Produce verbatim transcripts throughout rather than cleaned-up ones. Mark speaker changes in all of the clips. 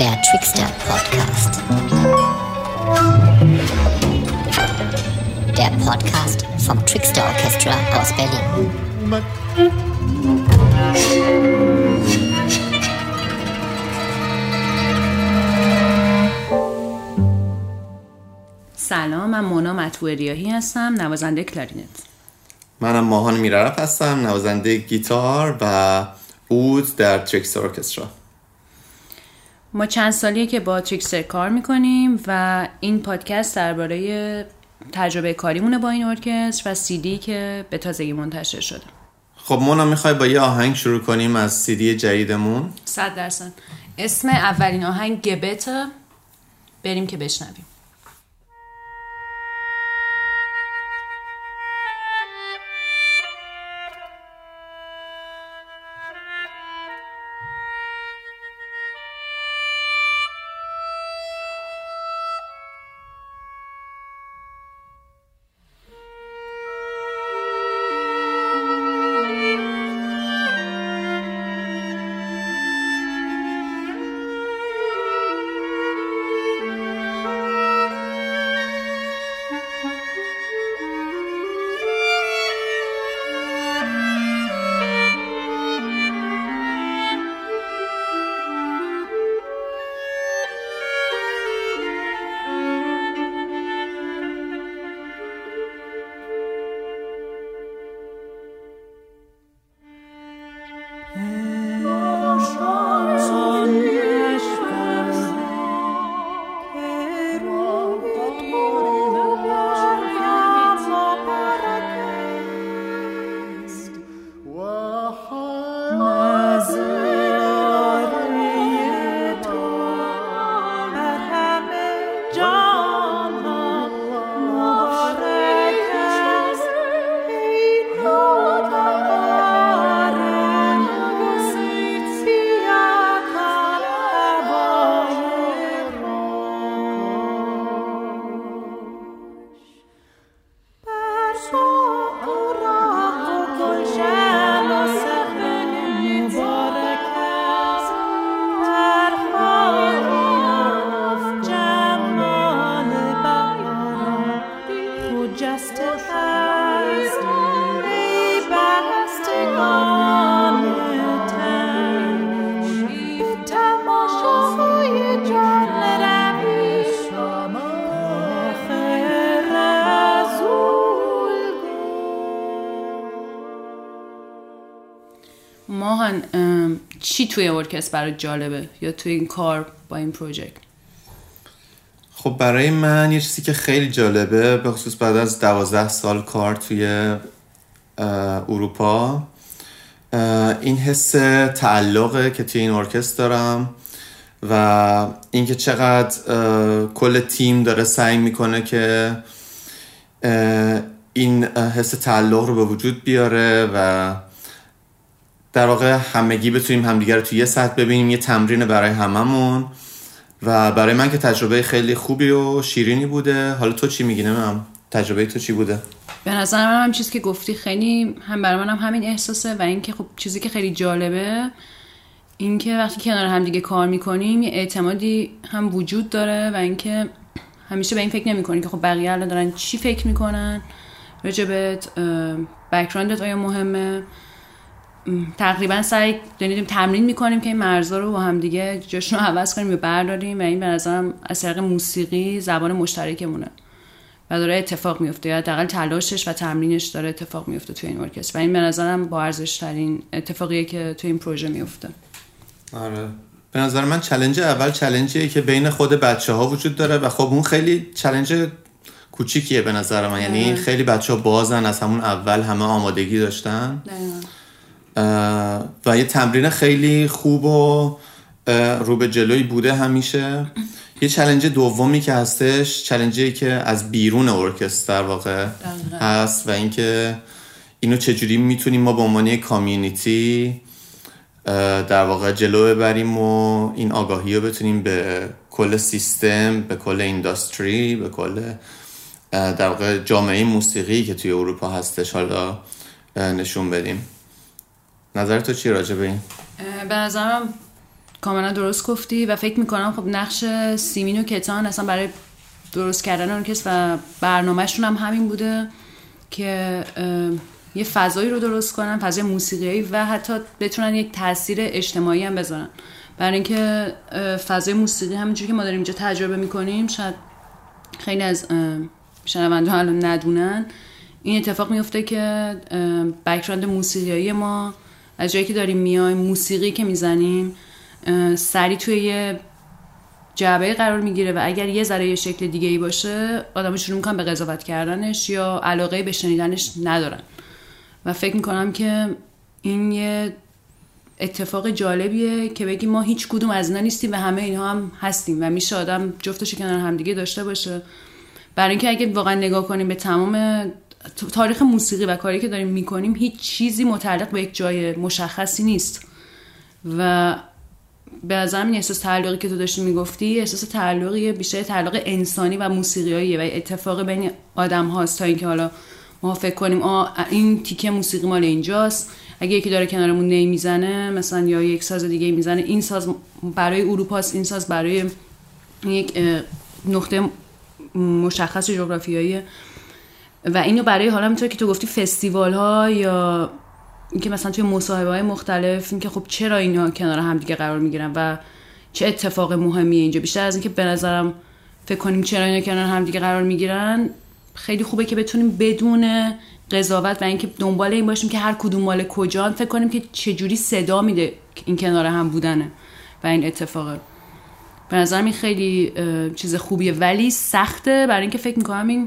Speaker 1: Der Trickster Podcast. Der Podcast vom Trickster Orchestra aus Berlin.
Speaker 2: سلام، من مونا مطبوع ریاحی هستم، نوازنده کلارینت.
Speaker 3: منم ماهان میررف هستم، نوازنده گیتار و عود در تریکستر ارکسترا.
Speaker 2: ما چند سالیه که با تریکستر کار میکنیم و این پادکست درباره تجربه کاریمونه با این ارکستر و سی دی که به تازگی منتشر شده.
Speaker 3: خب مونا، میخوای با یه آهنگ شروع کنیم از سی دی جدیدمون؟
Speaker 2: صد درصد. اسم اولین آهنگ گبته، بریم که بشنویم. ماهان، چی توی ارکستر برای جالبه یا توی این کار با این پروژکت؟
Speaker 3: خب برای من یه چیزی که خیلی جالبه، به خصوص بعد از دوازده سال کار توی اروپا، این حس تعلقه که توی این ارکستر دارم و اینکه چقدر کل تیم داره سعی میکنه که این حس تعلق رو به وجود بیاره و در واقع همگی بتونیم همدیگر رو توی یه سطح ببینیم، یه تمرین برای هممون و برای من که تجربه خیلی خوبی و شیرینی بوده. حالا تو چی میگی؟ نمیدونم تجربه تو چی بوده؟
Speaker 2: به نظر من هم چیزی که گفتی خیلی هم برای من هم همین احساسه و اینکه خب چیزی که خیلی جالبه اینکه وقتی کنار هم دیگه کار میکنیم یه اعتمادی هم وجود داره و اینکه همیشه به این فکر نمیکنی که خب بقیه الان دارن چی فکر میکنن راجبت، بک‌گراندت آیا مهمه. تقریبا سعی داریم تمرین میکنیم که این مرزا رو با هم دیگه جاشون رو عوض کنیم یا برداریم و این به نظرم از طریق موسیقی زبان مشترکمونه و داره اتفاق میفته یا حداقل تلاشش و تمرینش داره اتفاق میفته توی این ارکستر و این به نظرم با ارزش ترین اتفاقیه که توی این پروژه میفته.
Speaker 3: آره، به نظر من چالش اول چالشیه که بین خود بچه‌ها وجود داره و خب اون خیلی چالش کوچیکیه به نظر من. یعنی خیلی بچه‌ها بازن، از همون اول همه آمادگی داشتن و یه تمرین خیلی خوب و رو به جلوی بوده همیشه. یه چالش دومی که هستش، چالشی که از بیرون ارکستر در واقع هست و اینکه اینو چجوری میتونیم ما به عنوان کامیونیتی در واقع جلو ببریم و این آگاهی رو بتونیم به کل سیستم، به کل اینداستری، به کل در واقع جامعه موسیقی که توی اروپا هستش حالا نشون بدیم. نظر تو چی راجع به این؟
Speaker 2: به نظرم کاملا درست گفتی و فکر میکنم خب نقش سیمین و کتان اصلا برای درست کردن ارکستر و برنامهشون هم همین بوده که یه فضایی رو درست کنن، فضای موسیقیایی و حتی بتونن یک تاثیر اجتماعی هم بذارن. برای اینکه فضای موسیقی همونجوری که ما داریم اینجا تجربه میکنیم، شاید خیلی از شنونده‌ها الان ندونن، این اتفاق میفته که بک‌گراند موسیقیایی ما از جایی که داریم میایم، موسیقی که میزنیم سری توی یه جعبه قرار میگیره و اگر یه ذره یه شکل دیگه ای باشه آدم‌ها شروع میکنن به قضاوت کردنش یا علاقه به شنیدنش ندارن و فکر میکنم که این یه اتفاق جالبیه که بگیم ما هیچ کدوم از اینا نیستیم و همه اینها هم هستیم و میشه آدم جفتش کنار همدیگه داشته باشه. برای اینکه اگه واقعا نگاه کنیم به تمام تاریخ موسیقی و کاری که داریم میکنیم، هیچ چیزی متعلق به یک جای مشخصی نیست و به نظرم این احساس تعلقی که تو داشتی میگفتی احساس تعلقیه، بیشتر تعلق انسانی و موسیقیاییه و اتفاق بین آدم هاست تا اینکه حالا ما فکر کنیم آه این تیکه موسیقی مال اینجاست، اگه یکی داره کنارمون نی میزنه مثلا یا یک ساز دیگه میزنه، این ساز برای اروپاست، این ساز برای یک نقطه مشخص جغرافیاییه و اینو برای حالا میتونه که تو گفتی فستیوال ها یا اینکه مثلا توی مصاحبه های مختلف اینکه خب چرا اینا کنار هم دیگه قرار میگیرن و چه اتفاق مهمیه اینجا، بیشتر از اینکه به نظرم فکر کنیم چرا اینا کنار هم دیگه قرار میگیرن، خیلی خوبه که بتونیم بدون قضاوت و اینکه دنبال این باشیم که هر کدوم مال کجان، فکر کنیم که چجوری صدا میده این کنار هم بودنه و این اتفاقه. به نظرم این خیلی چیز خوبیه ولی سخته، برای اینکه فکر میکنم این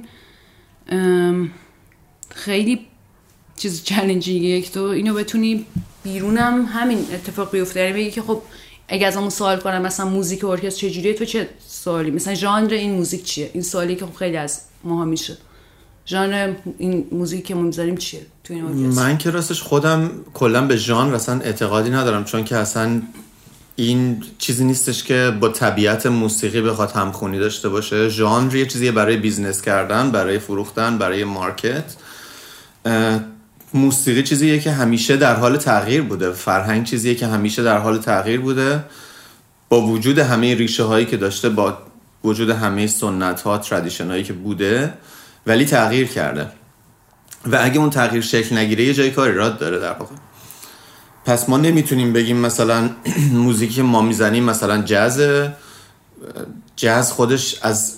Speaker 2: خیلی چیز چالنجینگه که تو اینو بتونی بیرونم همین اتفاق بیفته، یعنی بگی که خب اگه از همون سوال کنم مثلا موزیک ارکستر چجوریه، تو چه سوالی مثلا ژانر این موزیک چیه، این سوالی که خب خیلی از ماها میشه، ژانر این موزیک که ما میذاریم چیه تو این ارکستر.
Speaker 3: من که راستش خودم کلا به ژانر اصلا اعتقادی ندارم، چون که اصلا این چیزی نیستش که با طبیعت موسیقی بخواد همخونی داشته باشه. ژانر یه چیزیه برای بیزنس کردن، برای فروختن، برای مارکت. موسیقی چیزیه که همیشه در حال تغییر بوده، فرهنگ چیزیه که همیشه در حال تغییر بوده، با وجود همه ریشه هایی که داشته، با وجود همه سنت ها، ترادیشن هایی که بوده، ولی تغییر کرده و اگه اون تغییر شکل نگیره یه جای کار ایراد داره در واقع. پس ما نمیتونیم بگیم مثلا موزیکی ما میزنیم مثلا جاز، جاز خودش از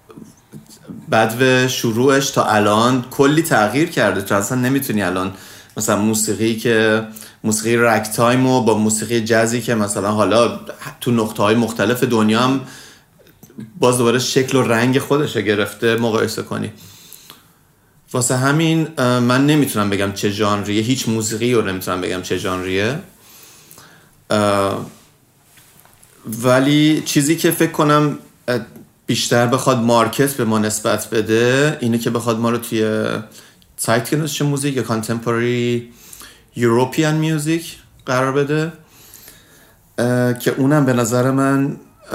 Speaker 3: بعد شروعش تا الان کلی تغییر کرده. تو اصلا نمیتونی الان مثلا موسیقی که موسیقی رک تایم و با موسیقی جازی که مثلا حالا تو نقطه‌های مختلف دنیا هم باز دوباره شکل و رنگ خودش گرفته مقایسه کنی. واسه همین من نمیتونم بگم چه ژانریه، هیچ موسیقی رو نمیتونم بگم چه ژانریه، ولی چیزی که فکر کنم بیشتر بخواد مارکت به ما نسبت بده اینه که بخواد ما رو توی zeitgenössische موزیک یا contemporary European میوزیک قرار بده، که اونم به نظر من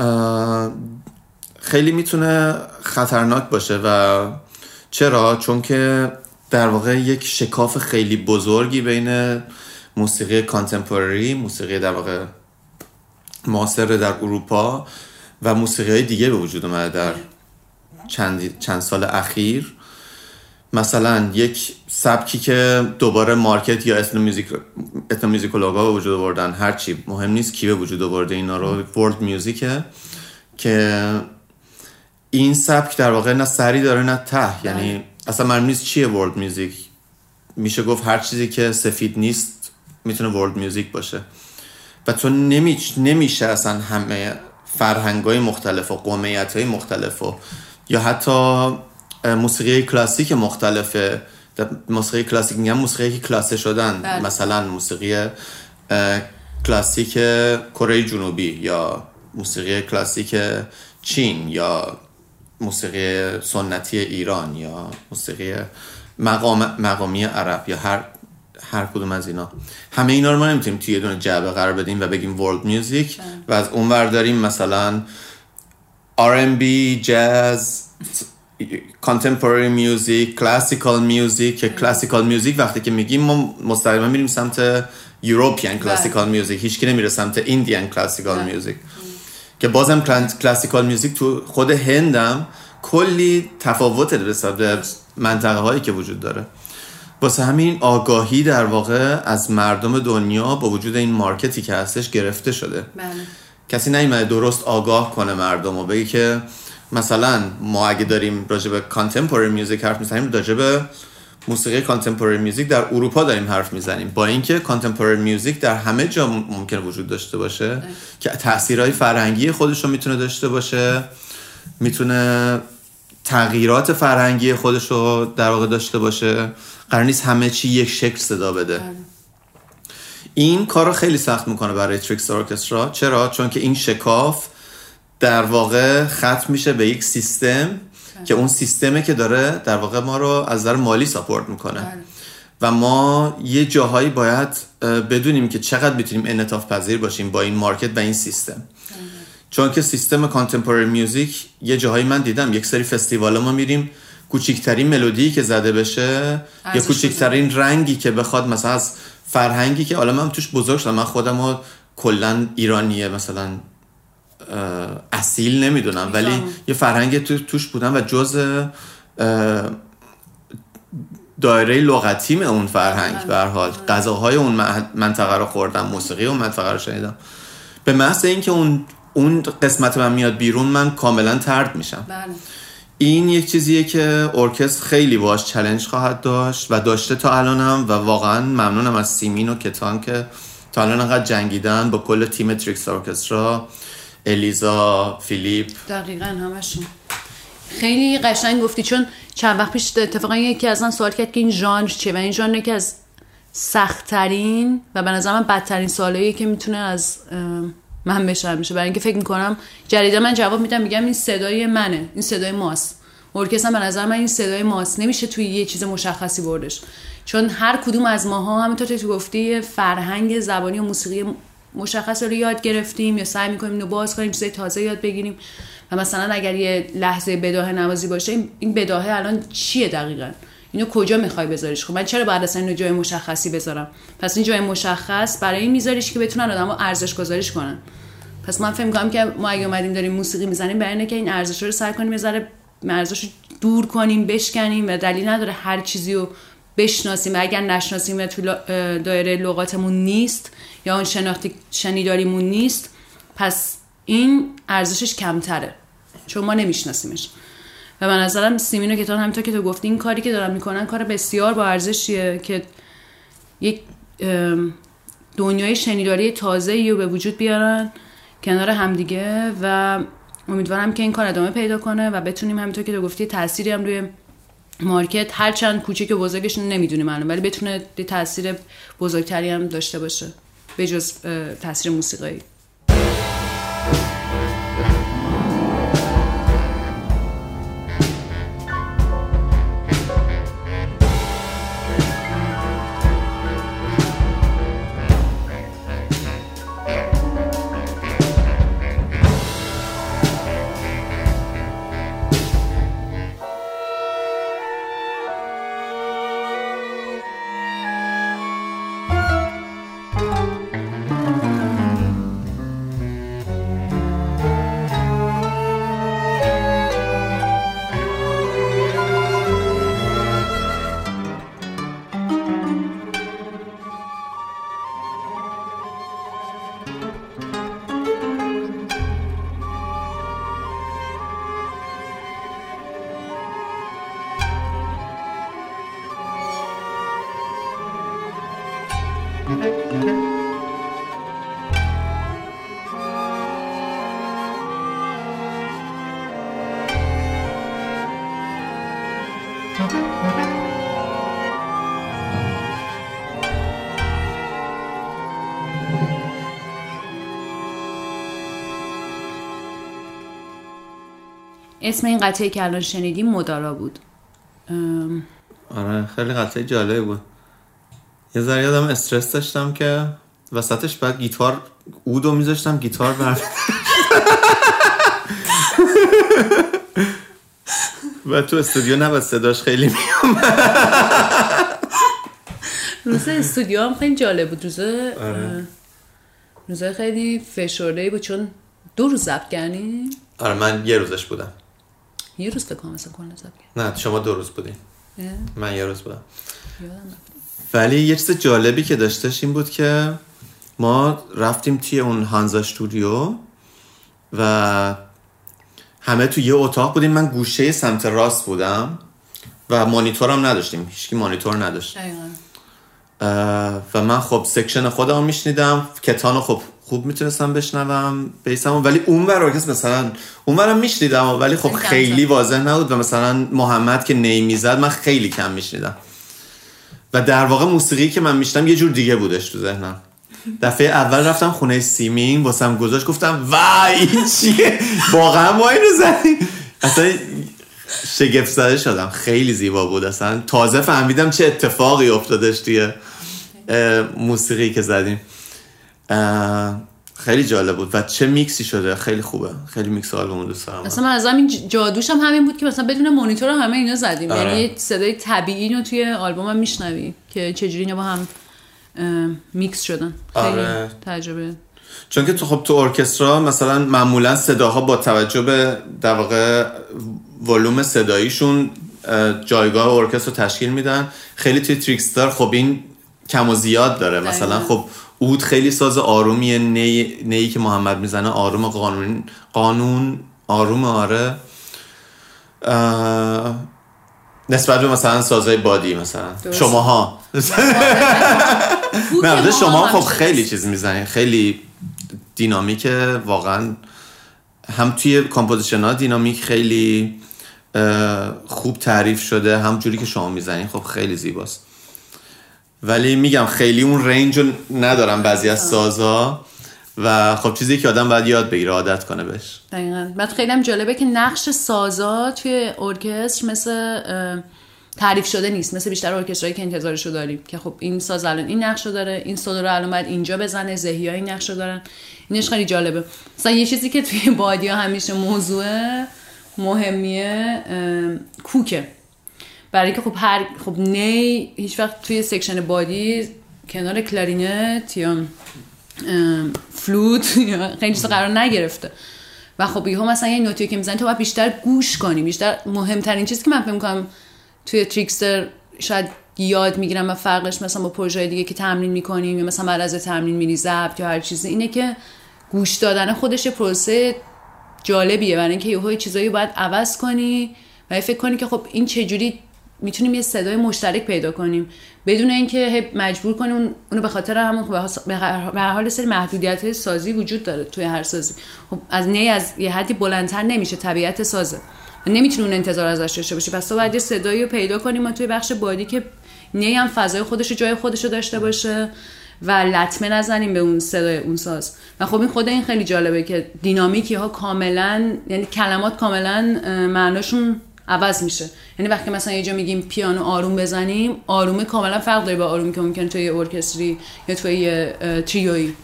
Speaker 3: خیلی میتونه خطرناک باشه. و چرا؟ چون که در واقع یک شکاف خیلی بزرگی بین موسیقی کانتمپوری، موسیقی در واقع معاصر در اروپا و موسیقی دیگه به وجود اومده در چند چند سال اخیر. مثلا یک سبکی که دوباره مارکت یا اسنو میوزیک اسنو میوزیکولوگا به وجود آوردن، هر چی مهم نیست کی به وجود آورده اینا رو، ورلد میوزیکه که این سبک در واقع نه سری داره نه ته، یعنی اصلا معلوم نیست چیه ورلد میوزیک. میشه گفت هر چیزی که سفید نیست میتونه ورلد میوزیک باشه و تو نمیش نمیشه اصلا همه فرهنگ‌های مختلف و قومیت‌های مختلف و یا حتی موسیقی کلاسیک مختلفه. موسیقی کلاسیک میگم موسیقی که کلاسه شدن، بله. مثلا موسیقی کلاسیک کره جنوبی یا موسیقی کلاسیک چین یا موسیقی سنتی ایران یا موسیقی مقام مقامی عرب یا هر هر کدوم از اینا، همه اینا رو ما نمیتونیم توی یه دونه جعبه قرار بدیم و بگیم ورلد میوزیک و از اون ور داریم مثلا آر ام بی، جاز، contemporary music، classical music. که classical music وقتی که میگیم ما مستقیما میریم سمت یوروپیان کلاسیکال میوزیک، هیچکی نمیره سمت ایندیان کلاسیکال میوزیک که بازم کلاسیکال میوزیک تو خود هندم کلی تفاوت نسبت به منطقه هایی که وجود داره. واسه همین آگاهی در واقع از مردم دنیا با وجود این مارکتی که هستش گرفته شده.
Speaker 2: بله.
Speaker 3: کسی نیومده درست آگاه کنه مردم و بگه که مثلا ما اگه داریم راجع به کانتمپوری میوزیک حرف میزنیم، راجع به موسیقی کانتمپوری میوزیک در اروپا داریم حرف میزنیم، با اینکه کانتمپوری میوزیک در همه جا ممکنه وجود داشته باشه اه. که تأثیرهای فرهنگی خودش رو میتونه داشته باشه، میتونه تغییرات فرهنگی خودش رو در واقع داشته باشه، قرار نیست همه چی یک شکل صدا بده. اه. این کار رو خیلی سخت میکنه برای تریکستار ارکسترا. چرا؟ چون که این شکاف در واقع ختم میشه به یک سیستم که اون سیستمه که داره در واقع ما رو از نظر مالی ساپورت میکنه بله. و ما یه جاهایی باید بدونیم که چقدر میتونیم انعطاف پذیر باشیم با این مارکت و این سیستم بله. چون که سیستم کانتمپوری میوزیک یه جاهایی من دیدم یک سری فستیوالا ما میریم کوچکترین ملودی که زده بشه یا کوچکترین رنگی که بخواد مثلا از فرهنگی که حالا من توش بزرگ شدم، من خودمو کلا ایرانیه مثلا اصیل نمیدونم ولی یه فرهنگ تو توش بودم و جزء دایره لغتیم اون فرهنگ به هر حال غذاهای اون منطقه رو خوردم، موسیقی اون منطقه رو شنیدم. به محض اینکه اون اون قسمت من میاد بیرون من کاملا طرد میشم. بله. این یک چیزیه که ارکستر خیلی باهاش چالش خواهد داشت و داشته تا الانم و واقعا ممنونم از سیمین و کتان که تا الان انقدر جنگیدن با کل تیم تریکستار ارکسترا، الیزا، فیلیپ.
Speaker 2: دقیقاً همشون. خیلی قشنگ گفتی، چون چند وقت پیش اتفاقا یکی از من سوال کرد که این ژانر چیه و این ژانر که از سخت‌ترین و به نظر من بدترین سوالاییه که میتونه از من بشه میشه، برای اینکه فکر میکنم جریده من جواب میدم میگم این صدای منه، این صدای ماست. ارکستر به نظر من این صدای ماست، نمیشه توی یه چیز مشخصی بردش، چون هر کدوم از ماها همونطور که تو گفتی فرهنگ زبانی و موسیقی مشخص رو یاد گرفتیم یا سعی میکنیم اینو باز کنیم، چیزای تازه یاد بگیریم. و مثلا اگر یه لحظه بداهه نوازی باشه، این بداهه الان چیه دقیقاً؟ اینو کجا میخوای بذاریش؟ خب من چرا بعد اصلا اینو جای مشخصی بذارم؟ پس این جای مشخص برای این میذاریش که بتونن آدمو ارزش گذاریش کنن. پس من فکر می‌کنم که ما اگه اومدیم داریم موسیقی میزنیم برای اینه که این ارزش رو سعی کنیم یه ذره ارزشو دور کنیم، بشکنیم و دلیل نداره هر چیزی رو بشناسیم و اگر نشناسیم و تو دایره لغاتمون نیست یا اون شناختی شنیداریمون نیست، پس این ارزشش کمتره چون ما نمیشناسیمش. و به نظرم سیمینو که تو همونطور که تو گفتی این کاری که دارن میکنن کار بسیار با ارزشیه که یک دنیای شنیداری تازه‌ای رو به وجود بیارن کنار همدیگه و امیدوارم که این کار ادامه پیدا کنه و بتونیم همونطور که تو گفتی تأثیری هم روی مارکت هر چند کوچیک و بزرگش نمیدونیم الان ولی بتونه تأثیر بزرگتری هم داشته باشه به جز تأثیر موسیقایی. اسم این قطعه که الان شنیدیم مدارا بود. ام...
Speaker 3: آره خیلی قطعه جالبی بود. یه ذره یادم استرس داشتم که وسطش بعد گیتار اودو میذاشتم گیتار بر و تو استودیو نباید صداش خیلی میومد.
Speaker 2: روز استودیو هم خیلی جالب بود. روز روز خیلی فشرده‌ای بود چون دو روز ضبط کردیم.
Speaker 3: آره من یه روزش بودم.
Speaker 2: یه روز فکر کنم مثلا کلا ضبط
Speaker 3: کردیم. نه شما دو روز بودین. من یه روز بودم.
Speaker 2: یادم
Speaker 3: ولی یه چیز جالبی که داشتش این بود که ما رفتیم توی اون هانزا استودیو و همه توی یه اتاق بودیم. من گوشه سمت راست بودم و مانیتورم نداشتیم، هیچکی مانیتور نداشت. و من خب سکشن خودم میشنیدم، کتانو خب خوب میتونستم بشنوم بیسم، ولی اون ور ارکستر مثلا اون ورم میشنیدم ولی خب خیلی واضح نبود و مثلا محمد که نی میزد من خیلی کم میشنیدم و در واقع موسیقی که من میشنم یه جور دیگه بودش تو ذهنم. دفعه اول رفتم خونه سیمین واسم گذاشت، گفتم وای این چیه، واقعا ما اینو زدیم. اصلا شگفت زده شدم، خیلی زیبا بود. اصلا تازه فهمیدم چه اتفاقی افتادش توی موسیقی که زدیم. خیلی جالب بود و چه میکسی شده، خیلی خوبه، خیلی میکس آلبوم دوست دارم.
Speaker 2: مثلا من از همین جادوش هم همین بود که مثلا بدون مانیتور همه اینا زدیم. آره. یعنی صدای طبیعی رو توی آلبوم هم میشنوی که چجوری اینا با هم میکس شدن. خیلی آره. تجربه،
Speaker 3: چون که تو خب تو ارکسترا مثلا معمولا صداها با توجه به در واقع ولوم صداییشون جایگاه ارکستر رو تشکیل میدن. خیلی توی تریکستر خب این کم و زیاد داره. دایم. مثلا خب اود خیلی ساز آرومیه، نی نی که محمد میزنه آروم، قانون قانون آروم. آره نسبت به مثلا سازهای بادی مثلا شماها نه شما خب خیلی چیز میزنین، خیلی دینامیکه واقعا، هم توی کامپوزیشن ها دینامیک خیلی خوب تعریف شده، هم جوری که شما میزنین خب خیلی زیباست. ولی میگم خیلی اون رنج رو ندارم بعضی از سازها و خب چیزی که آدم باید یاد بگیره، عادت کنه بهش.
Speaker 2: دقیقاً. بعد خیلی هم جالبه که نقش سازها توی ارکستر مثل تعریف شده نیست، مثل بیشتر ارکسترایی که انتظارشو داریم که خب این ساز الان این نقشو داره، این سولو رو الان باید اینجا بزنه، زهی‌ها این نقشو دارن. اینش خیلی جالبه. مثلا یه چیزی که توی بادی‌ها همیشه موضوع مهمیه کوکه، برای که خب هر خب نی هیچ وقت توی سکشن بادی کنار کلارینت یا فلوت یا خیلی چیزا قرار نگرفته و خب یهو مثلا یه نوتی که میزنی تو باید بیشتر گوش کنی. بیشتر مهمترین چیزی که من فکر می‌کنم توی تریکستر شاید یاد میگیرم و فرقش مثلا با پروژه دیگه که تمرین میکنیم یا مثلا بعد از تمرین میری ضبط یا هر چیزی، اینه که گوش دادن خودش پروسه جالبیه، برای اینکه یهو چیزایی باید عوض کنی و فکر کنی که خب این چه جوری میتونیم یه صدای مشترک پیدا کنیم بدون اینکه مجبور کنیم اونو به خاطر همون خب به هر حال سری محدودیت‌های سازی وجود داره توی هر سازی. خب از نی از یه حدی بلندتر نمیشه، طبیعت سازه و نمیتونی اون انتظار ازش داشته باشی. پس تو باید یه صدایی رو پیدا کنیم ما توی بخش بادی که نی هم فضای خودش رو جای خودش رو داشته باشه و لطمه نزنیم به اون صدای اون ساز. و خب این خود این خیلی جالبه که دینامیکی ها کاملا، یعنی کلمات کاملا معناشون عوض میشه. یعنی وقتی مثلا یه جا میگیم پیانو آروم بزنیم، آرومه کاملا فرق داره با آرومی که ممکن توی ارکستری یا توی تریویی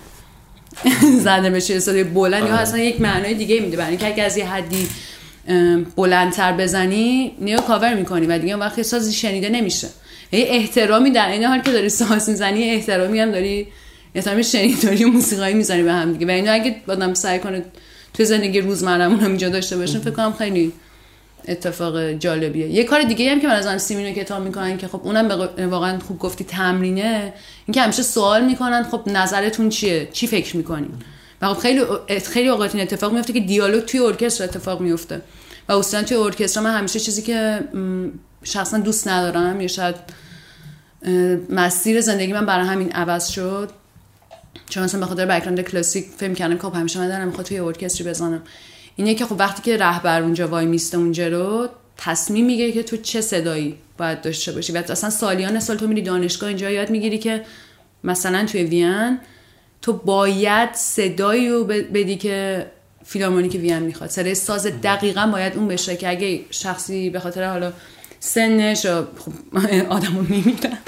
Speaker 2: زده بشه صدای بلند یا اصلا یک معنای دیگه میده. برای اینکه اگه از یه حدی بلندتر بزنی نیو کاور میکنی و دیگه وقتی سازی شنیده نمیشه. یعنی احترامی در این حال که داری ساز میزنی، احترامی هم داری، احترامی شنیداری و موسیقایی میزنی به هم دیگه. و اینو اگه آدم سعی کنه توی زندگی روزمره‌مون هم اینجا داشته باشیم فکر کنم خیلی اتفاق جالبیه. یه کار دیگه هم که من از هم سیمینو کتاب میکنن که خب اونم واقعا خوب گفتی تمرینه، اینکه همیشه سوال میکنن خب نظرتون چیه، چی فکر میکنین. و خب خیلی خیلی اوقات این اتفاق میفته که دیالوگ توی ارکستر اتفاق میفته و اصلا توی ارکستر من همیشه چیزی که شخصا دوست ندارم یا شاید مسیر زندگی من برای همین عوض شد، چون مثلا به خاطر بک‌گراند کلاسیک فهم کردم که همیشه من دارم میخوام توی ارکستری بزنم، اینه که خب وقتی که رهبر اونجا وای میسته اونجا رو تصمیم میگیره که تو چه صدایی باید داشته باشی. و اصلا سالیان سال تو میری دانشگاه اینجا یاد میگیری که مثلا توی وین تو باید صدایی رو بدی که فیلارمونیک وین میخواد، صدای ساز دقیقاً باید اون بشه که اگه شخصی به خاطر حالا سنش خب آدمو میمیرن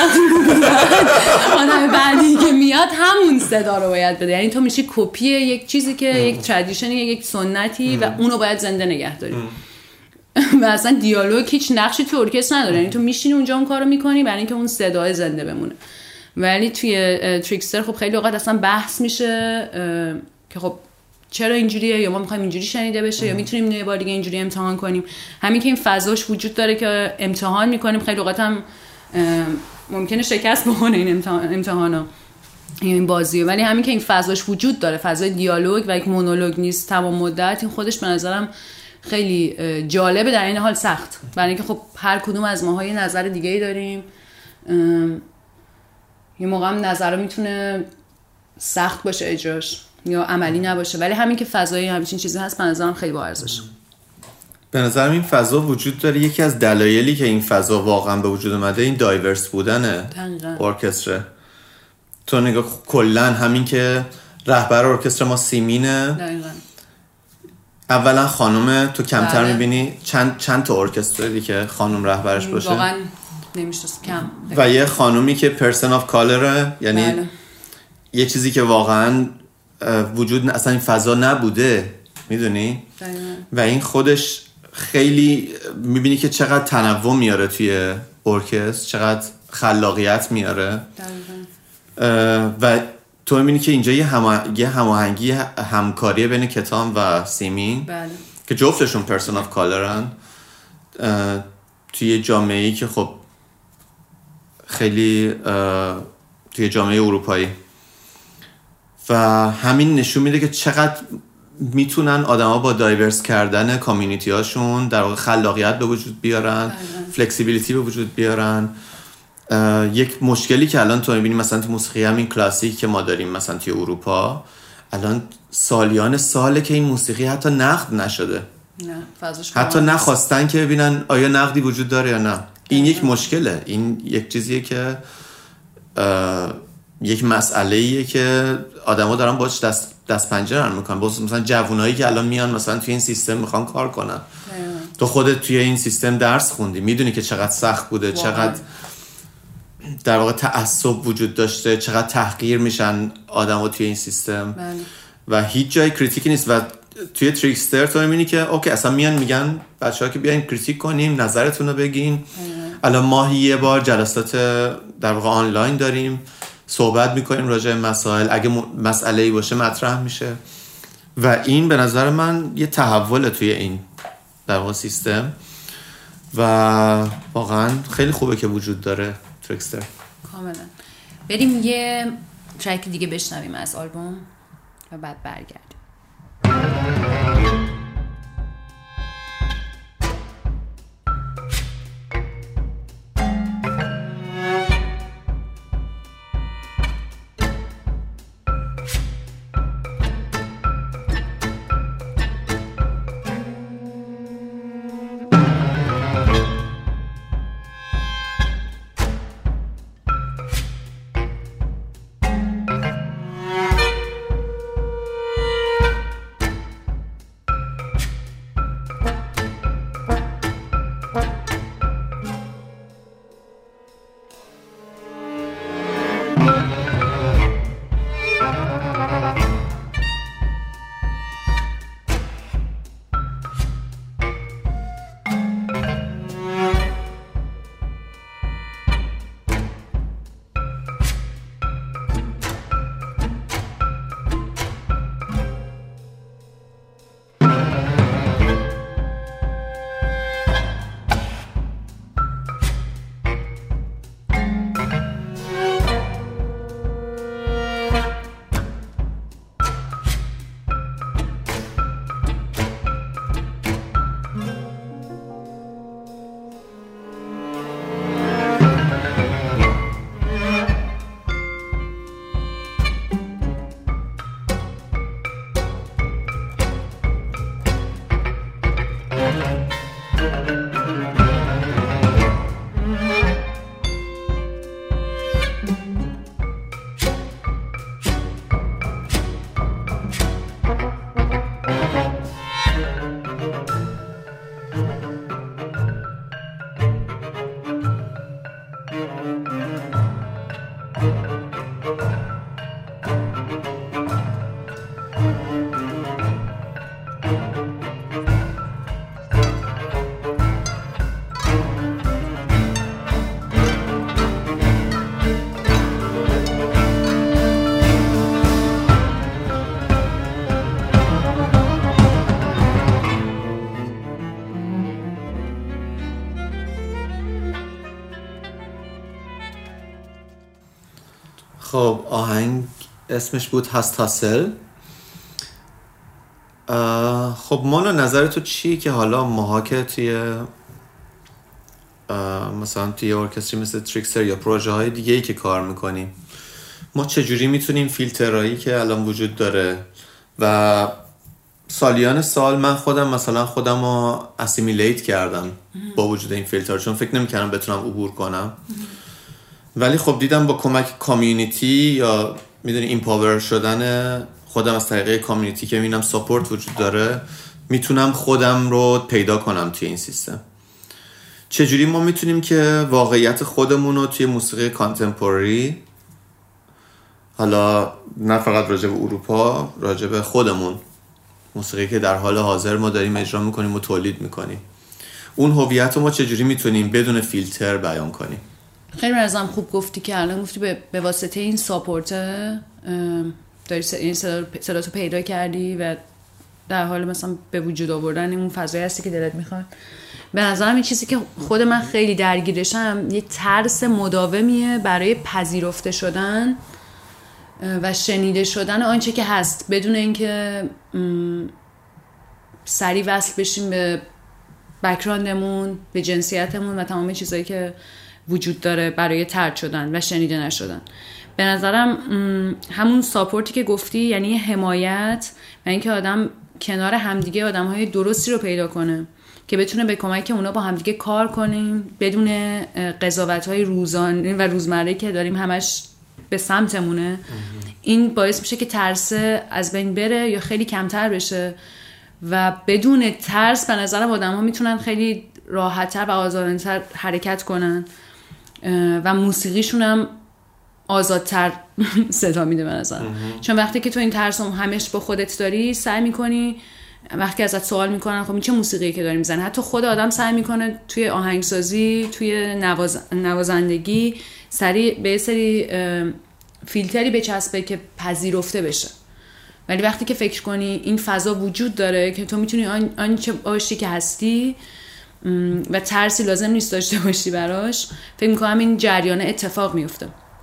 Speaker 2: آدم بعدی که میاد همون صدا رو باید بده. یعنی تو میشی کپی یک چیزی که یک ترادیشنی، یک سنتی و اونو باید زنده نگه داری. و اصلا دیالوگ هیچ نقشی تو ارکستر نداره، یعنی تو میشینی اونجا اون کارو میکنی برای اینکه اون صدای زنده بمونه. ولی توی تریکستر خب خیلی اوقات اصلا بحث میشه که خب چرا اینجوریه، یا ما میخوایم اینجوری شنیده بشه، یا میتونیم یه بار دیگه اینجوری امتحان کنیم. همین که این فضاش وجود داره که امتحان میکنیم، خیلی اوقات هم ممکنه شکست بخونه این امتحان امتحانا این بازیه، ولی همین که این فضاش وجود داره، فضای دیالوگ و یک مونولوگ نیست تمام مدت، این خودش به نظرم خیلی جالبه، در این حال سخت، برای اینکه خب هر کدوم از ماها یه نظر دیگه‌ای داریم. یه موقع هم نظر میتونه سخت باشه اجراش یا عملی نباشه، ولی همین که فضای همچین چیزی هست به نظرم خیلی با ارزشه.
Speaker 3: به نظرم این فضا وجود داره. یکی از دلایلی که این فضا واقعا به وجود اومده این دایورس بودن ارکستر. تو نگاه کلا همین که رهبر ارکستر ما سیمینه، دقیقاً. اولا خانومه، تو کمتر بله. میبینی چند چند تا ارکستری که خانم رهبرش باشه،
Speaker 2: واقعا نمیشناسم کم.
Speaker 3: و یه خانومی که پرسن آف کالره، یعنی بله. یه چیزی که واقعا وجود اصلا این فضا نبوده، میدونی؟ دقیقاً. و این خودش خیلی میبینی که چقدر تنوع میاره توی ارکستر، چقدر خلاقیت میاره. دقیقاً. و تو میبینی که اینجا یه, همه... یه هماهنگی همکاری بین کتام و سیمین بله. که جفتشون پرسن آف کالرن توی جامعه‌ای که خب خیلی توی جامعه اروپایی، و همین نشون میده که چقدر میتونن آدما با دایورس کردن کامیونیتی هاشون در واقع خلاقیت به وجود بیارن، فلکسیبیلیتی به وجود بیارن. یک مشکلی که الان تو میبینی مثلا تو موسیقی همین کلاسیک که ما داریم مثلا توی اروپا، الان سالیان ساله که این موسیقی حتی نقد نشده، نه حتی نخواستن که ببینن آیا نقدی وجود داره یا نه. این یک مشکله، این یک چیزیه که یک مسئله‌ایه که آدما دارن باش دست دست پنجه نرم میکنن. مثلا جوونایی که الان میان مثلا توی این سیستم میخوان کار کنن، تو خودت توی این سیستم درس خوندی، میدونی که چقدر سخت بوده، واقعا. چقدر در واقع تعصب وجود داشته، چقدر تحقیر میشن آدما توی این سیستم بله. و هیچ جای کریتیکی نیست. و توی تریکستر تو میبینی که اوکی اصلا میان میگن بچه‌ها که بیاین کریتیک کنیم، نظرتون رو بگین. الان ماهی یه بار جلسات در واقع آنلاین داریم، صحبت میکنیم راجع به مسائل، اگه مسئله‌ای باشه مطرح میشه. و این به نظر من یه تحول توی این در واقع سیستم و واقعا خیلی خوبه که وجود داره تریکستر.
Speaker 2: کاملا. بریم یه ترک دیگه بشنویم از آلبوم و بعد برگردیم.
Speaker 3: خب آهنگ اسمش بود هستاسل. خب مانا نظر تو چیه که حالا ماها که توی مثلا توی ارکستری مثل تریکستر یا پروژه های دیگه ای که کار میکنیم، ما چجوری میتونیم فیلترهایی که الان وجود داره و سالیان سال من خودم مثلا خودم رو اسیمیلیت کردم با وجود این فیلتر، چون فکر نمیکردم بتونم عبور کنم، ولی خب دیدم با کمک کامیونیتی یا میدونی ایمپاور شدن خودم از طریق کامیونیتی که میبینم ساپورت وجود داره، میتونم خودم رو پیدا کنم توی این سیستم. چجوری ما میتونیم که واقعیت خودمون رو توی موسیقی کانتمپوری، حالا نه فقط راجع به اروپا، راجع به خودمون، موسیقی که در حال حاضر ما داریم اجرا میکنیم و تولید میکنیم، اون هویت رو ما چجوری میتونیم بدون فیلتر بیان کنیم؟
Speaker 2: خیلی ازم خوب گفتی که الان گفتی به, به واسطه این ساپورت داری این صدا تو پیدا کردی و در حال مثلا به وجود آوردن اون فضایی هستی که دلت میخواد. به نظرم این چیزی که خود من خیلی درگیرشم یه ترس مداومیه برای پذیرفته شدن و شنیده شدن آنچه که هست، بدون اینکه سریع وصل بشیم به بک‌گراندمون، به جنسیتمون و تمام چیزایی که وجود داره برای طرد شدن و شنیده نشدن. به نظرم همون ساپورتی که گفتی، یعنی حمایت و اینکه آدم کنار همدیگه آدم‌های درستی رو پیدا کنه که بتونه به کمک اونا با همدیگه کار کنیم بدون قضاوت‌های روزانه و روزمره که داریم همش به سمتمونه. این باعث میشه که ترس از بین بره یا خیلی کمتر بشه و بدون ترس به نظرم آدم‌ها میتونن خیلی راحت‌تر و آزادانه‌تر حرکت کنن و موسیقیشون هم آزادتر صدا میده به نظرم. چون وقتی که تو این ترس هم همش با خودت داری، سعی میکنی وقتی ازت سوال میکنن خب این چه موسیقی که داری میزنی، حتی خود آدم سعی میکنه توی آهنگسازی، توی نواز... نوازندگی سری به سری فیلتری بچسبه که پذیرفته بشه. ولی وقتی که فکر کنی این فضا وجود داره که تو میتونی آن, آن چه باشی که هستی و ترسی لازم نیست داشته باشی براش، فکر میکنم این جریان اتفاق میفته.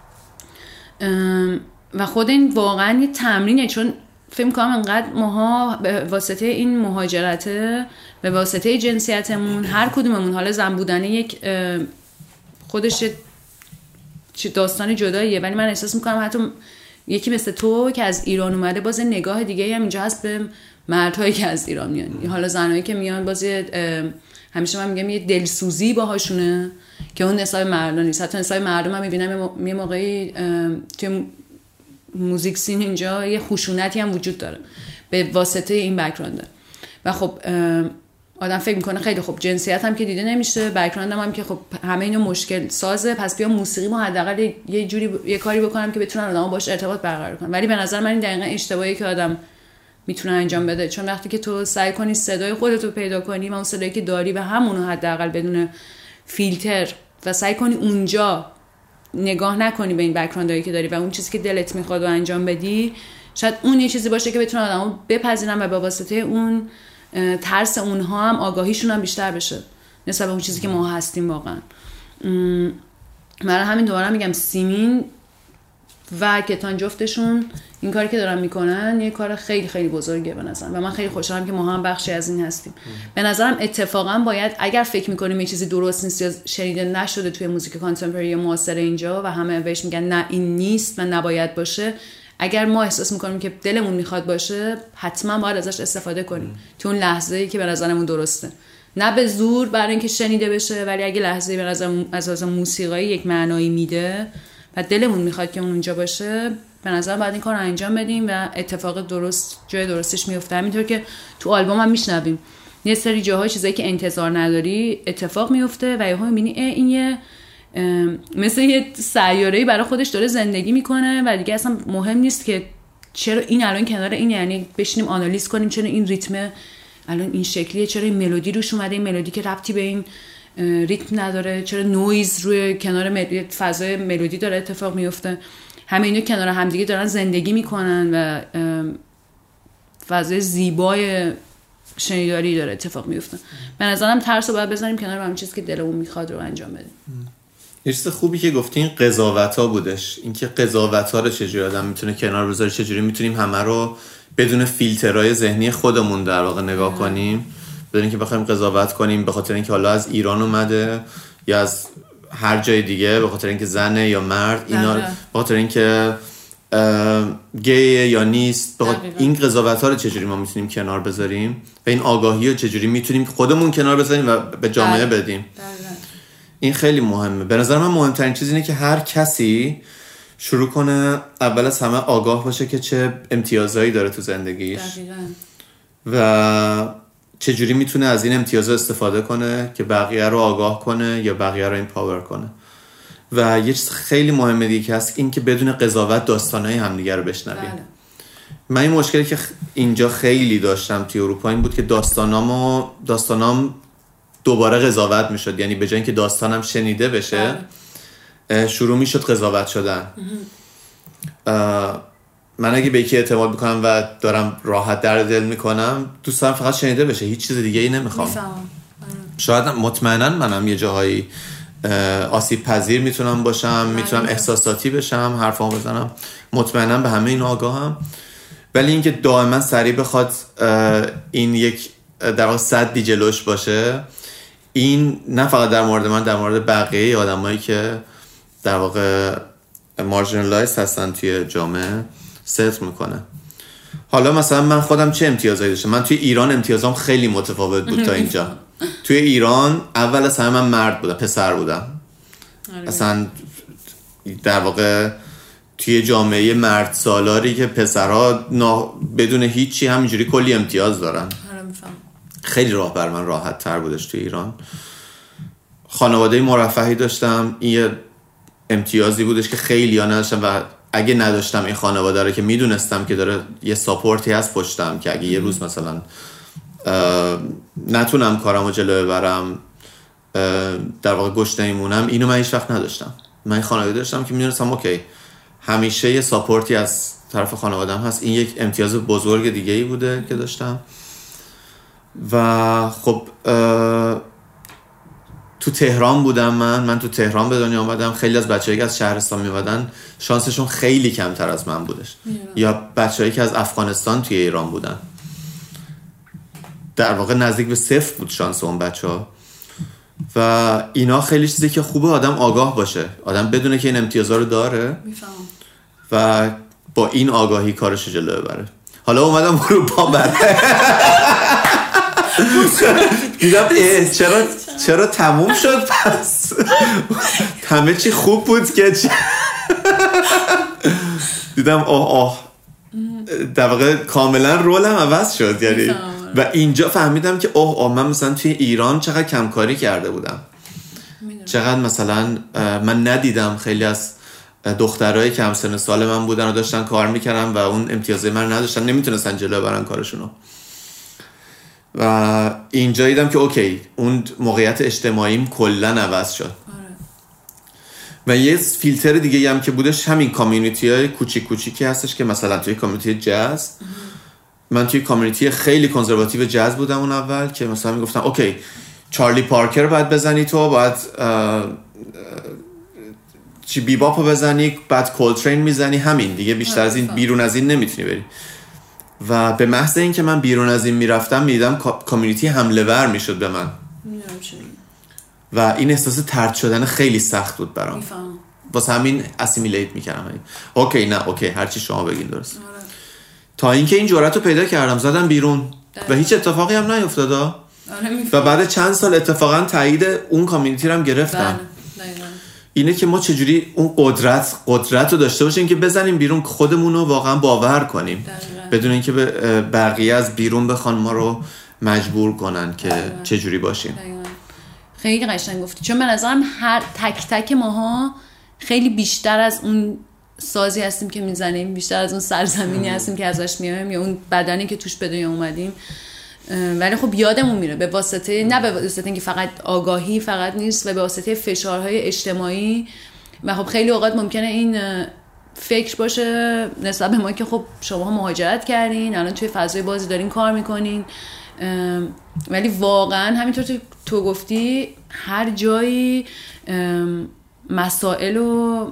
Speaker 2: و خود این واقعا یه تمرینه، چون فکر میکنم انقدر ماها به واسطه این مهاجرته، به واسطه جنسیتمون، هر کدوممون حالا زن بودن یک خودش داستان جداییه، ولی من احساس میکنم حتی یکی مثل تو که از ایران اومده باز نگاه دیگه هم اینجا هست به مردهایی که از ایران میان، حالا زنایی که میان باز همیشه من میگم یه دلسوزی باهاشونه که اون نسای مردم نیست. حتی نسای مردم هم میبینم یه موقعی توی موزیک سین اینجا یه خشونتی هم وجود داره به واسطه این بک‌گراند. و خب آدم فکر میکنه خیلی خب جنسیت هم که دیده نمیشه، بک‌گراند هم, هم که خب همه اینو مشکل سازه، پس بیا موسیقی ما حداقل یه جوری ب... یه کاری بکنم که بتونن آدم‌ها باش ارتباط برقرار کنن. ولی به نظر من این دقیقاً اشتباهی که آدم میتونه انجام بده، چون وقتی که تو سعی کنی صدای خودت رو پیدا کنی و اون صدایی که داری و همونو حداقل بدون فیلتر و سعی کنی اونجا نگاه نکنی به این بک‌گراندایی که داری و اون چیزی که دلت میخواد رو انجام بدی، شاید اون یه چیزی باشه که بتونه آدمو بپذیرن و به واسطه اون ترس اونها هم آگاهیشون هم بیشتر بشه نسبت به اون چیزی که ما هستیم واقعا. من همین دوباره میگم سیمین و کتان جفتشون این کاری که دارن میکنن یه کار خیلی خیلی بزرگه به نظرم و من خیلی خوشحالم که ما هم بخشی از این هستیم. به نظرم اتفاقا باید اگر فکر میکنیم یه چیزی درست نیست یا شنیده نشده توی موزیک کانتمپوری یا معاصر اینجا و همه بهش میگن نه این نیست و نباید باشه، اگر ما احساس میکنیم که دلمون میخواد باشه حتما باید ازش استفاده کنیم تو اون لحظه‌ای که به نظرمون درسته، نه به زور برای اینکه شنیده بشه، ولی اگه لحظه‌ای به نظر از موسیقی یک معنایی میده و دلمون میخواد که اون اونجا باشه، به نظر بعد این کار رو انجام بدیم و اتفاق درست جای درستش میفته. همینطور که تو آلبوم هم میشنویم یه سری جاهای چیزایی که انتظار نداری اتفاق میفته و یهو میبینی این یه مثل یه سیاره‌ای برای خودش داره زندگی میکنه و دیگه اصلا مهم نیست که چرا این الان کنار این، یعنی بشینیم آنالیز کنیم چرا این ریتم الان این شکلیه، چرا این ملودی روش اومده، این ملودی که ربطی به این ریتم نداره، چرا نویز روی کنار مل... فضای ملودی داره اتفاق میفته. همه اینا کنار همدیگه دارن زندگی میکنن و فضای زیبای شنیداری داره اتفاق میفته. به نظرم ترس رو باید بزنیم کنار و همین چیزی که دلمون میخواد رو انجام بدیم.
Speaker 3: یه چیز خوبی که گفتین قضاوت ها بودش. اینکه قضاوت ها رو چجوری آدم میتونه کنار بذاره، چجوری میتونیم همه رو بدون فیلترهای ذهنی خودمون در واقع نگاه اه. کنیم، بدون اینکه بخوایم قضاوت کنیم به خاطر اینکه حالا از ایران اومده یا از هر جای دیگه، به خاطر اینکه زنه یا مرد، اینا به خاطر اینکه گیه یا نیست. این قضاوت ها رو چجوری ما میتونیم کنار بذاریم و این آگاهی رو چجوری میتونیم خودمون کنار بذاریم و به جامعه بدیم. دقیقا. این خیلی مهمه. به نظر من مهمترین چیز اینه که هر کسی شروع کنه اول از همه آگاه باشه که چه امتیازایی داره تو زندگیش دقیقا. و چجوری میتونه از این امتیازها استفاده کنه که بقیه رو آگاه کنه یا بقیه رو ایمپاور کنه. و یه چیز خیلی مهمه دیگه هست، این که بدون قضاوت داستانهای همدیگه رو بشنویم. بله. من این مشکلی که اینجا خیلی داشتم توی اروپا این بود که داستانامو داستانام دوباره قضاوت میشد، یعنی به جای اینکه داستانم شنیده بشه بله. شروع میشد قضاوت شدن. من اگه به یکی اعتماد میکنم و دارم راحت در دل میکنم، دوست دارم فقط شنیده بشه، هیچ چیز دیگه ای نمیخوام. شاید مطمئنا منم یه جاهایی آسیب پذیر میتونم باشم، میتونم احساساتی بشم، حرفامو بزنم، مطمئنا به همه این آگاهم، ولی اینکه دائما سریع بخواد این یک در واقع صدی جلوش باشه، این نه فقط در مورد من، در مورد بقیه آدمایی که در واقع مارجینالایز هستن توی جامعه ست میکنه. حالا مثلا من خودم چه امتیازایی داشتم؟ من توی ایران امتیازام خیلی متفاوت بود تا اینجا. توی ایران اول از همه من مرد بودم، پسر بودم. اصلا در واقع توی جامعه مرد سالاری که پسرها نا... بدون هیچی همینجوری کلی امتیاز دارن. خیلی راه بر من راحت تر بودش توی ایران. خانواده مرفهی داشتم، این امتیازی بودش که خیلی ها نداشتم و اگه نداشتم این خانواده رو که میدونستم که داره یه ساپورتی هست پشتم که اگه یه روز مثلا نتونم کارمو جلو ببرم، در واقع گشنه میمونم، اینو من هیچ وقت نداشتم. من این خانواده داشتم که میدونستم اوکی همیشه یه ساپورتی از طرف خانواده‌ام هست. این یک امتیاز بزرگ دیگه ای بوده که داشتم. و خب تو تهران بودم من من تو تهران به دنیا آمدم. خیلی از بچه‌ای که از شهرستان میومدن شانسشون خیلی کمتر از من بودش میرم. یا بچه‌ای که از افغانستان توی ایران بودن، در واقع نزدیک به صفر بود شانس اون بچه‌ها. و اینا خیلی چیزی که خوبه آدم آگاه باشه، آدم بدونه که این امتیازا رو داره میفهم و با این آگاهی کارش جلو ببره. حالا اومدم اروپا بعد دیدم چرا چرا تموم شد، پس همه چی خوب بود که دیدم آه آه در واقع کاملا رولم عوض شد یعنی. و اینجا فهمیدم که اوه اوه من مثلا توی ایران چقدر کمکاری کرده بودم، چقدر مثلا من ندیدم خیلی از دخترایی که همسن سال من بودن و داشتن کار میکردن و اون امتیازه من نداشتن، نمیتونستن جلو برن کارشونو. و اینجا دیدم که اوکی اون موقعیت اجتماعیم کلا عوض شد. و یه فیلتر دیگه هم که بودش همین کامیونیتی های کوچیک کوچیکی هستش که مثلا توی کامیونیتی جاز، من توی کامیونیتی خیلی کنزرواتیو جاز بودم اون اول که مثلا میگفتن اوکی چارلی پارکر باید بزنی، تو باید چی بیباپو بزنی، بعد کولترین میزنی، همین دیگه، بیشتر از این بیرون از این نمیتونی بری. و به محض این که من بیرون از این میرفتم میدیدم کامیونیتی حمله ور میشد به من و این احساس طرد شدن خیلی سخت بود برام. واسه همین اسیمیلیت میکردم. اوکی نه اوکی هرچی شما بگین درست. آره. تا اینکه این جرأت رو پیدا کردم زدم بیرون و هیچ اتفاقی هم نیفتاد. آره و بعد چند سال اتفاقا تایید اون کامیونیتی رو هم گرفتم. اینه که ما چجوری اون قدرت قدرت رو داشته باشیم که بزنیم بیرون، خودمون رو واقعا باور کنیم دقیقا. بدون اینکه بقیه از بیرون بخوان ما رو مجبور کنن که دقیقا. چجوری باشیم دقیقا.
Speaker 2: خیلی قشنگ گفتی، چون من نظرم هر تک تک ماها خیلی بیشتر از اون سازی هستیم که میزنیم، بیشتر از اون سرزمینی هستیم که ازش میایم یا اون بدنی که توش به دنیا اومدیم. ولی خب یادمون میره به واسطه نه به واسطه اینکه فقط آگاهی فقط نیست و به واسطه فشارهای اجتماعی. و خب خیلی اوقات ممکنه این فکر باشه نسبت به ما که خب شما مهاجرت کردین، الان توی فضای بازی دارین کار میکنین، ولی واقعا همینطور تو گفتی هر جایی مسائل و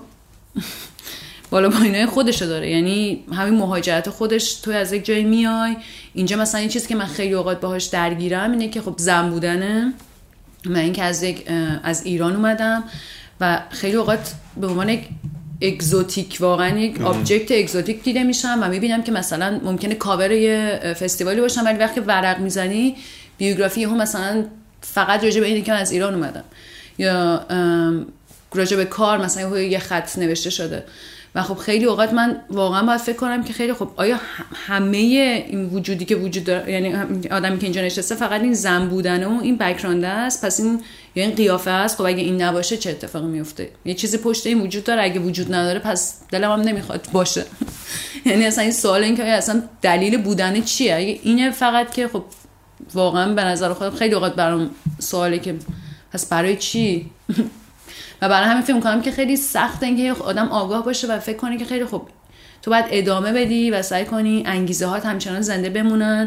Speaker 2: بالا پایینای خودشو داره. یعنی همین مهاجرت خودش، تو از یک جایی میای اینجا، مثلا این چیزی که من خیلی اوقات باهاش درگیرم اینه که خب زن بودنه. من این که از یک از ایران اومدم و خیلی اوقات به عنوان یک اگزوتیک، واقعا یک آبجکت اگزوتیک دیده میشم و میبینم که مثلا ممکنه کاور یه فستیوالی باشم، ولی وقتی ورق میزنی بیوگرافی هم مثلا فقط راجع به اینه که من از ایران اومدم، یا راجع به کار مثلا یه خط نوشته شده. و خب خیلی اوقات من واقعا باید فکر کنم که خیلی خب آیا همه این وجودی که وجود داره، یعنی آدمی که اینجا نشسته فقط این زن بودنه و این بک‌گراند است، پس این یا این قیافه است، خب اگه این نباشه چه اتفاقی میفته؟ یه چیزی پشت این وجود داره، اگه وجود نداره پس دلم هم نمیخواد باشه. یعنی اصلا این سوال این که اصلا دلیل بودن چیه؟ اگه اینه فقط که خب واقعا به نظر خودم خیلی اوقات برام سواله که پس برای چی؟ و برای همین فکر می‌کنم که خیلی سخته اینکه آدم آگاه باشه و فکر کنه که خیلی خوب تو باید ادامه بدی و سعی کنی انگیزه هات همچنان زنده بمونن،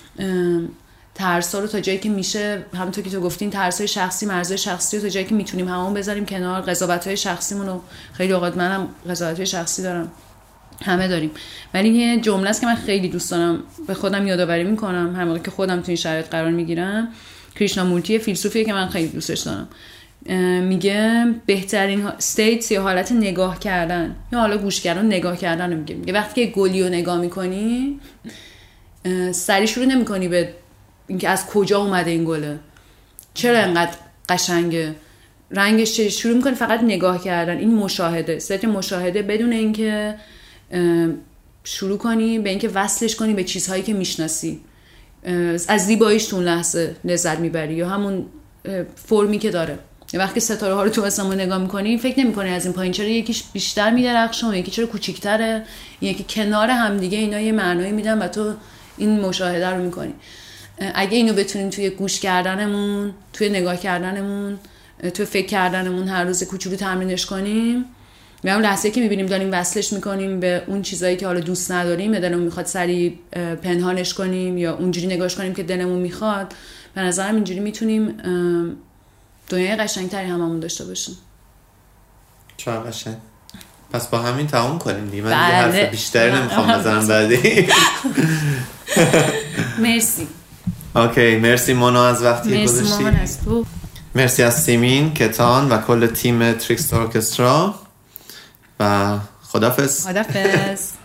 Speaker 2: ترسا رو تا جایی که میشه، همونطور که تو گفتین ترسای شخصی، مرزهای شخصی رو تا جایی که میتونیم همون بذاریم کنار، قضاوت‌های شخصیمون رو، خیلی اوقات منم قضاوت‌های شخصی دارم، همه داریم، ولی یه جمله است که من خیلی دوست دارم به خودم یادآوری میکنم هر موقع که خودم تو این شرایط قرار میگیرم. کریشنامورتی فیلسوفیه که من خیلی دوستش دارم، میگه بهترین استیت یا حالت نگاه کردن یا حالا گوش کردن، نگاه کردن رو میگه. میگه وقتی که گلی رو نگاه میکنی سری شروع نمیکنی به اینکه از کجا اومده این گله، چرا انقدر قشنگه، رنگش چه، شروع میکنی فقط نگاه کردن. این مشاهده، استیت مشاهده، بدون اینکه شروع کنی به اینکه وصلش کنی به چیزهایی که میشناسی، از زیباییش تو اون لحظه لذت میبری یا همون فرمی که داره. وقتی ستاره ها رو تو آسمون نگاه میکنی فکر نمیکنی از این پایین چرا یکیش بیشتر میدرخشه، یکی چرا کوچیک‌تره، یکی کنار هم دیگه اینا یه معنایی میدن و تو این مشاهده رو میکنی. اگه اینو بتونیم توی گوش کردنمون، توی نگاه کردنمون، توی فکر کردنمون هر روز کوچولو تمرینش کنیم، و اون لحظه که میبینیم داریم وصلش میکنیم به اون چیزایی که حالا دوست نداریم یا دلمون میخواد سری پنهانش کنیم یا اونجوری نگاهش کنیم که دلمون میخواد، به نظرم اینجوری میتونیم دنیای قشنگتری هممون داشته باشیم.
Speaker 3: چه قشنگ. پس با همین تمام کنیم دیگه. من
Speaker 2: بله.
Speaker 3: دیگه حرف بیشتری نمیخوام بزنم بعدی.
Speaker 2: مرسی.
Speaker 3: اوکی، مرسی مونا از وقتی گذاشتی.
Speaker 2: مرسی مامان از تو.
Speaker 3: مرسی از سیمین، کتان و کل تیم تریکستار ارکسترا و خدافظ.
Speaker 2: خدافظ.